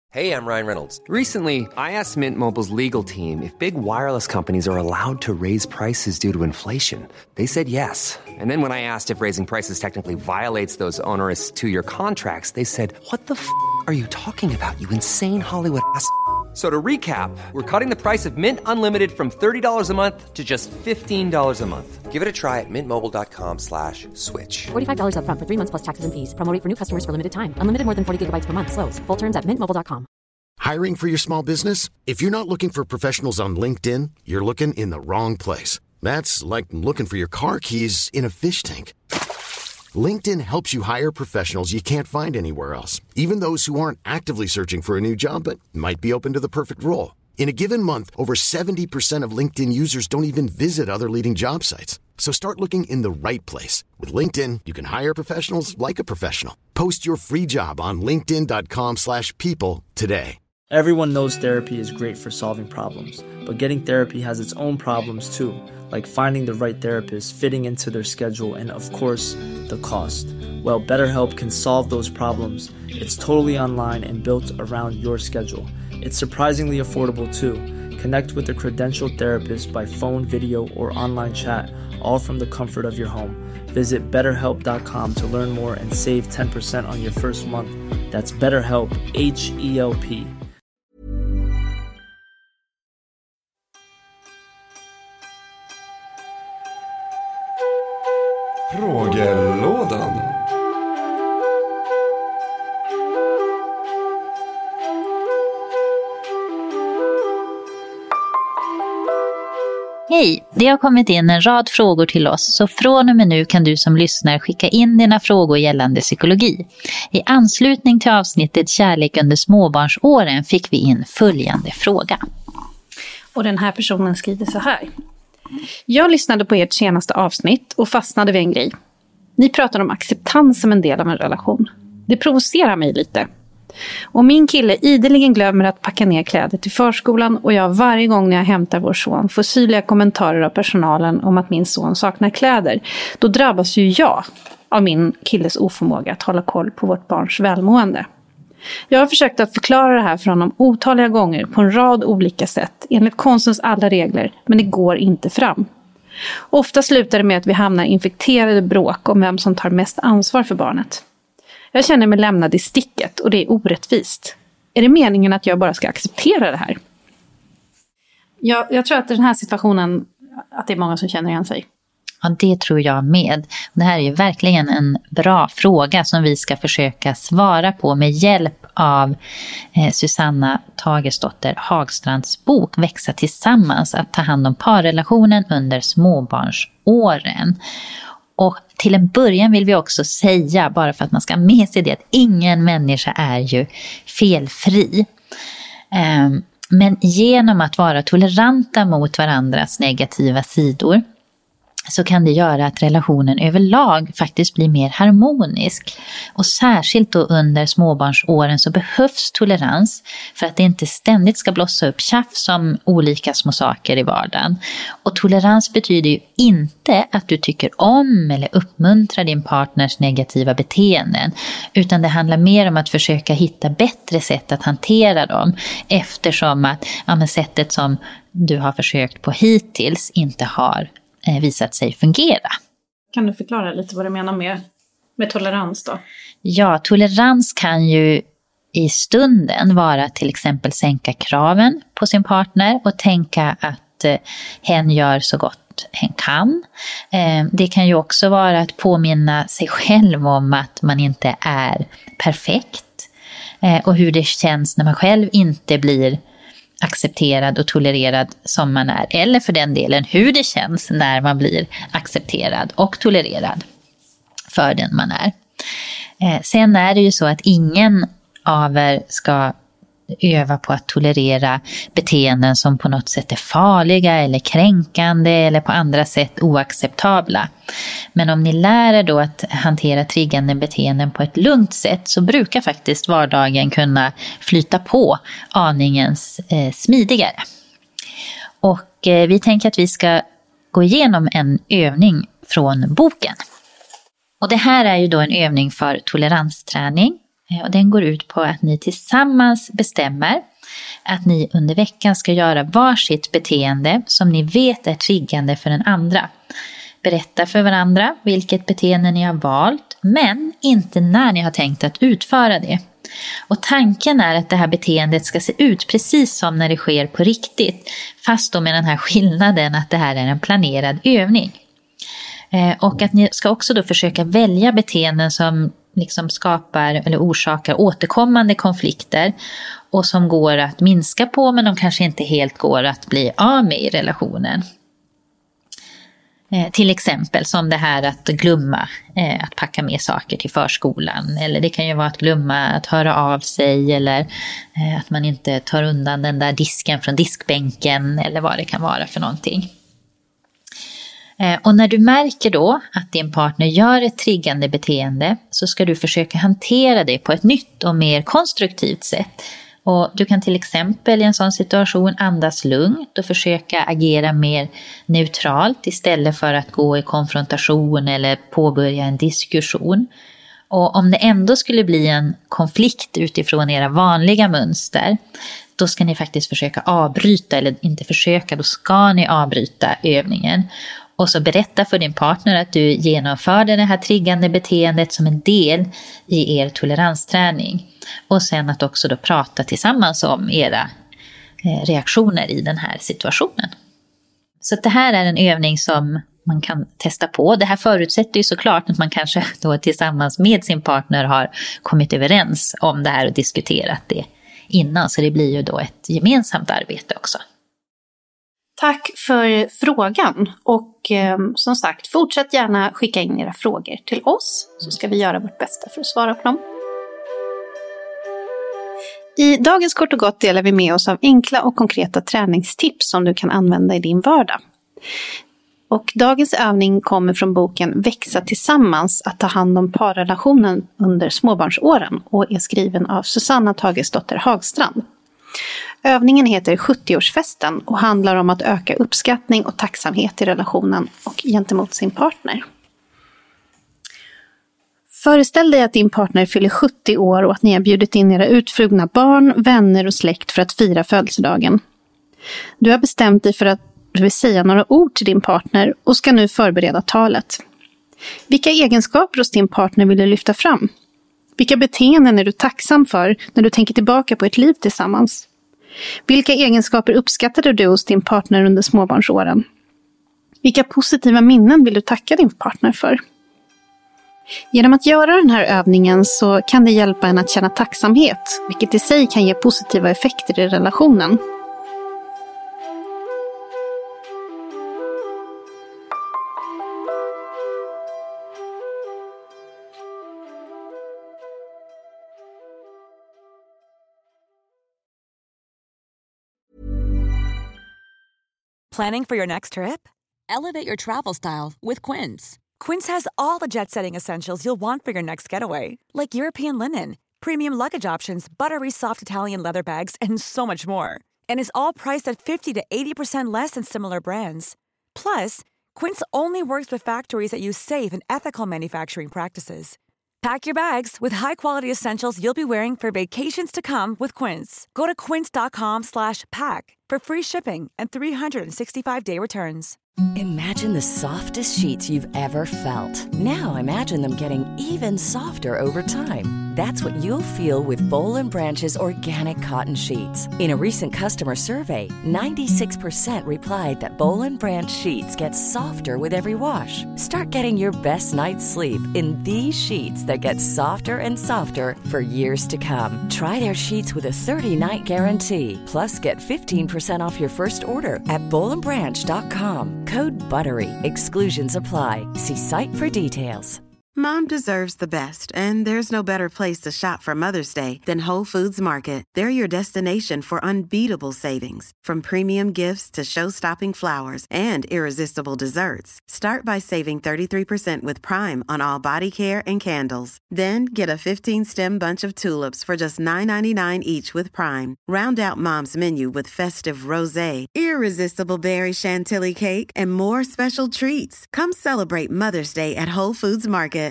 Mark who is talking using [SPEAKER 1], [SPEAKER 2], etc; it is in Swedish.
[SPEAKER 1] Hey, I'm Ryan Reynolds.
[SPEAKER 2] Recently, I asked Mint Mobile's legal team if big wireless companies are allowed to raise prices due to inflation. They said yes. And then when I asked if raising prices technically violates those onerous two-year contracts, they said, "What the are you talking about, you insane Hollywood ass?" So to recap, we're cutting the price of Mint Unlimited from $30 a month to just $15 a month.
[SPEAKER 1] Give it a try at mintmobile.com/switch.
[SPEAKER 3] $45 up front for 3 months plus taxes and fees. Promo rate for new customers for limited time. Unlimited more than 40 gigabytes per month. Slows full terms at mintmobile.com.
[SPEAKER 4] Hiring for your small business? If you're not looking for professionals on LinkedIn, you're looking in the wrong place. That's like looking for your car keys in a fish tank. LinkedIn helps you hire professionals you can't find anywhere else, even those who aren't actively searching for a new job but might be open to the perfect role. In a given month, over 70% of LinkedIn users don't even visit other leading job sites. So start looking in the right place. With LinkedIn, you can hire professionals like a professional. Post your free job on linkedin.com/people today.
[SPEAKER 5] Everyone knows therapy is great for solving problems, but getting therapy has its own problems too, like finding the right therapist, fitting into their schedule, and of course, the cost. Well, BetterHelp can solve those problems. It's totally online and built around your schedule. It's surprisingly affordable too. Connect with a credentialed therapist by phone, video, or online chat, all from the comfort of your home. Visit BetterHelp.com to learn more and save 10% on your first month. That's BetterHelp, H-E-L-P.
[SPEAKER 6] Frågelådan.
[SPEAKER 7] Hej, det har kommit in en rad frågor till oss, så från och med nu kan du som lyssnar skicka in dina frågor gällande psykologi. I anslutning till avsnittet Kärlek under småbarnsåren fick vi in följande fråga.
[SPEAKER 8] Och den här personen skriver så här. Jag lyssnade på ert senaste avsnitt och fastnade vid en grej. Ni pratar om acceptans som en del av en relation. Det provocerar mig lite. Och min kille ideligen glömmer att packa ner kläder till förskolan och jag varje gång när jag hämtar vår son får syrliga kommentarer av personalen om att min son saknar kläder. Då drabbas ju jag av min killes oförmåga att hålla koll på vårt barns välmående. Jag har försökt att förklara det här för honom otaliga gånger på en rad olika sätt enligt konstens alla regler, men det går inte fram. Ofta slutar det med att vi hamnar infekterade bråk om vem som tar mest ansvar för barnet. Jag känner mig lämnad i sticket och det är orättvist. Är det meningen att jag bara ska acceptera det här? Jag tror att den här situationen, att det är många som känner igen sig.
[SPEAKER 7] Ja, det tror jag med. Det här är ju verkligen en bra fråga som vi ska försöka svara på med hjälp av Susanna Tagesdotter Hagstrands bok Växa tillsammans, att ta hand om parrelationen under småbarnsåren. Och till en början vill vi också säga, bara för att man ska ha med sig det, att ingen människa är ju felfri. Men genom att vara toleranta mot varandras negativa sidor så kan det göra att relationen överlag faktiskt blir mer harmonisk. Och särskilt då under småbarnsåren så behövs tolerans för att det inte ständigt ska blossa upp tjafs om olika små saker i vardagen. Och tolerans betyder ju inte att du tycker om eller uppmuntrar din partners negativa beteenden, utan det handlar mer om att försöka hitta bättre sätt att hantera dem, eftersom att sättet som du har försökt på hittills inte har visat sig fungera.
[SPEAKER 8] Kan du förklara lite vad du menar med tolerans då?
[SPEAKER 7] Ja, tolerans kan ju i stunden vara till exempel sänka kraven på sin partner och tänka att hen gör så gott hen kan. Det kan ju också vara att påminna sig själv om att man inte är perfekt och hur det känns när man själv inte blir accepterad och tolererad som man är, eller för den delen hur det känns när man blir accepterad och tolererad för den man är. Sen är det ju så att ingen av er ska öva på att tolerera beteenden som på något sätt är farliga eller kränkande eller på andra sätt oacceptabla. Men om ni lär er då att hantera triggande beteenden på ett lugnt sätt så brukar faktiskt vardagen kunna flyta på aningens smidigare. Och vi tänker att vi ska gå igenom en övning från boken. Och det här är ju då en övning för toleransträning. Och den går ut på att ni tillsammans bestämmer att ni under veckan ska göra varsitt beteende som ni vet är triggande för den andra. Berätta för varandra vilket beteende ni har valt, men inte när ni har tänkt att utföra det. Och tanken är att det här beteendet ska se ut precis som när det sker på riktigt, fast då med den här skillnaden att det här är en planerad övning. Och att ni ska också då försöka välja beteenden som liksom skapar eller orsakar återkommande konflikter och som går att minska på, men de kanske inte helt går att bli av med i relationen. Till exempel som det här att glömma att packa med saker till förskolan, eller det kan ju vara att glömma att höra av sig, eller att man inte tar undan den där disken från diskbänken, eller vad det kan vara för någonting. Och när du märker då att din partner gör ett triggande beteende, så ska du försöka hantera det på ett nytt och mer konstruktivt sätt. Och du kan till exempel i en sån situation andas lugnt och försöka agera mer neutralt istället för att gå i konfrontation eller påbörja en diskussion. Och om det ändå skulle bli en konflikt utifrån era vanliga mönster, då ska ni faktiskt försöka avbryta, eller inte försöka, då ska ni avbryta övningen. Och så berätta för din partner att du genomförde det här triggande beteendet som en del i er toleransträning. Och sen att också då prata tillsammans om era reaktioner i den här situationen. Så det här är en övning som man kan testa på. Det här förutsätter ju såklart att man kanske då tillsammans med sin partner har kommit överens om det här och diskuterat det innan. Så det blir ju då ett gemensamt arbete också.
[SPEAKER 8] Tack för frågan, och som sagt, fortsätt gärna skicka in era frågor till oss, så ska vi göra vårt bästa för att svara på dem. I dagens Kort och Gott delar vi med oss av enkla och konkreta träningstips som du kan använda i din vardag. Och dagens övning kommer från boken Växa tillsammans, att ta hand om parrelationen under småbarnsåren, och är skriven av Susanna Tagesdotter Hagstrand. Övningen heter 70-årsfesten och handlar om att öka uppskattning och tacksamhet i relationen och gentemot sin partner. Föreställ dig att din partner fyller 70 år och att ni har bjudit in era utflugna barn, vänner och släkt för att fira födelsedagen. Du har bestämt dig för att du vill säga några ord till din partner och ska nu förbereda talet. Vilka egenskaper hos din partner vill du lyfta fram? Vilka beteenden är du tacksam för när du tänker tillbaka på ett liv tillsammans? Vilka egenskaper uppskattade du hos din partner under småbarnsåren? Vilka positiva minnen vill du tacka din partner för? Genom att göra den här övningen så kan det hjälpa en att känna tacksamhet, vilket i sig kan ge positiva effekter i relationen.
[SPEAKER 9] Planning for your next trip? Elevate your travel style with Quince. Quince has all the jet-setting essentials you'll want for your next getaway, like European linen, premium luggage options, buttery soft Italian leather bags, and so much more. And is all priced at 50 to 80% less than similar brands. Plus, Quince only works with factories that use safe and ethical manufacturing practices. Pack your bags with high-quality essentials you'll be wearing for vacations to come with Quince. Go to quince.com/pack for free shipping and 365-day returns.
[SPEAKER 10] Imagine the softest sheets you've ever felt. Now imagine them getting even softer over time. That's what you'll feel with Boll & Branch's organic cotton sheets. In a recent customer survey, 96% replied that Boll & Branch sheets get softer with every wash. Start getting your best night's sleep in these sheets that get softer and softer for years to come. Try their sheets with a 30-night guarantee. Plus, get 15% off your first order at bollandbranch.com. Code BUTTERY. Exclusions apply. See site for details.
[SPEAKER 11] Mom deserves the best, and there's no better place to shop for Mother's Day than Whole Foods Market. They're your destination for unbeatable savings, from premium gifts to show-stopping flowers and irresistible desserts. Start by saving 33% with Prime on all body care and candles. Then get a 15-stem bunch of tulips for just $9.99 each with Prime. Round out Mom's menu with festive rosé, irresistible berry chantilly cake, and more special treats. Come celebrate Mother's Day at Whole Foods Market.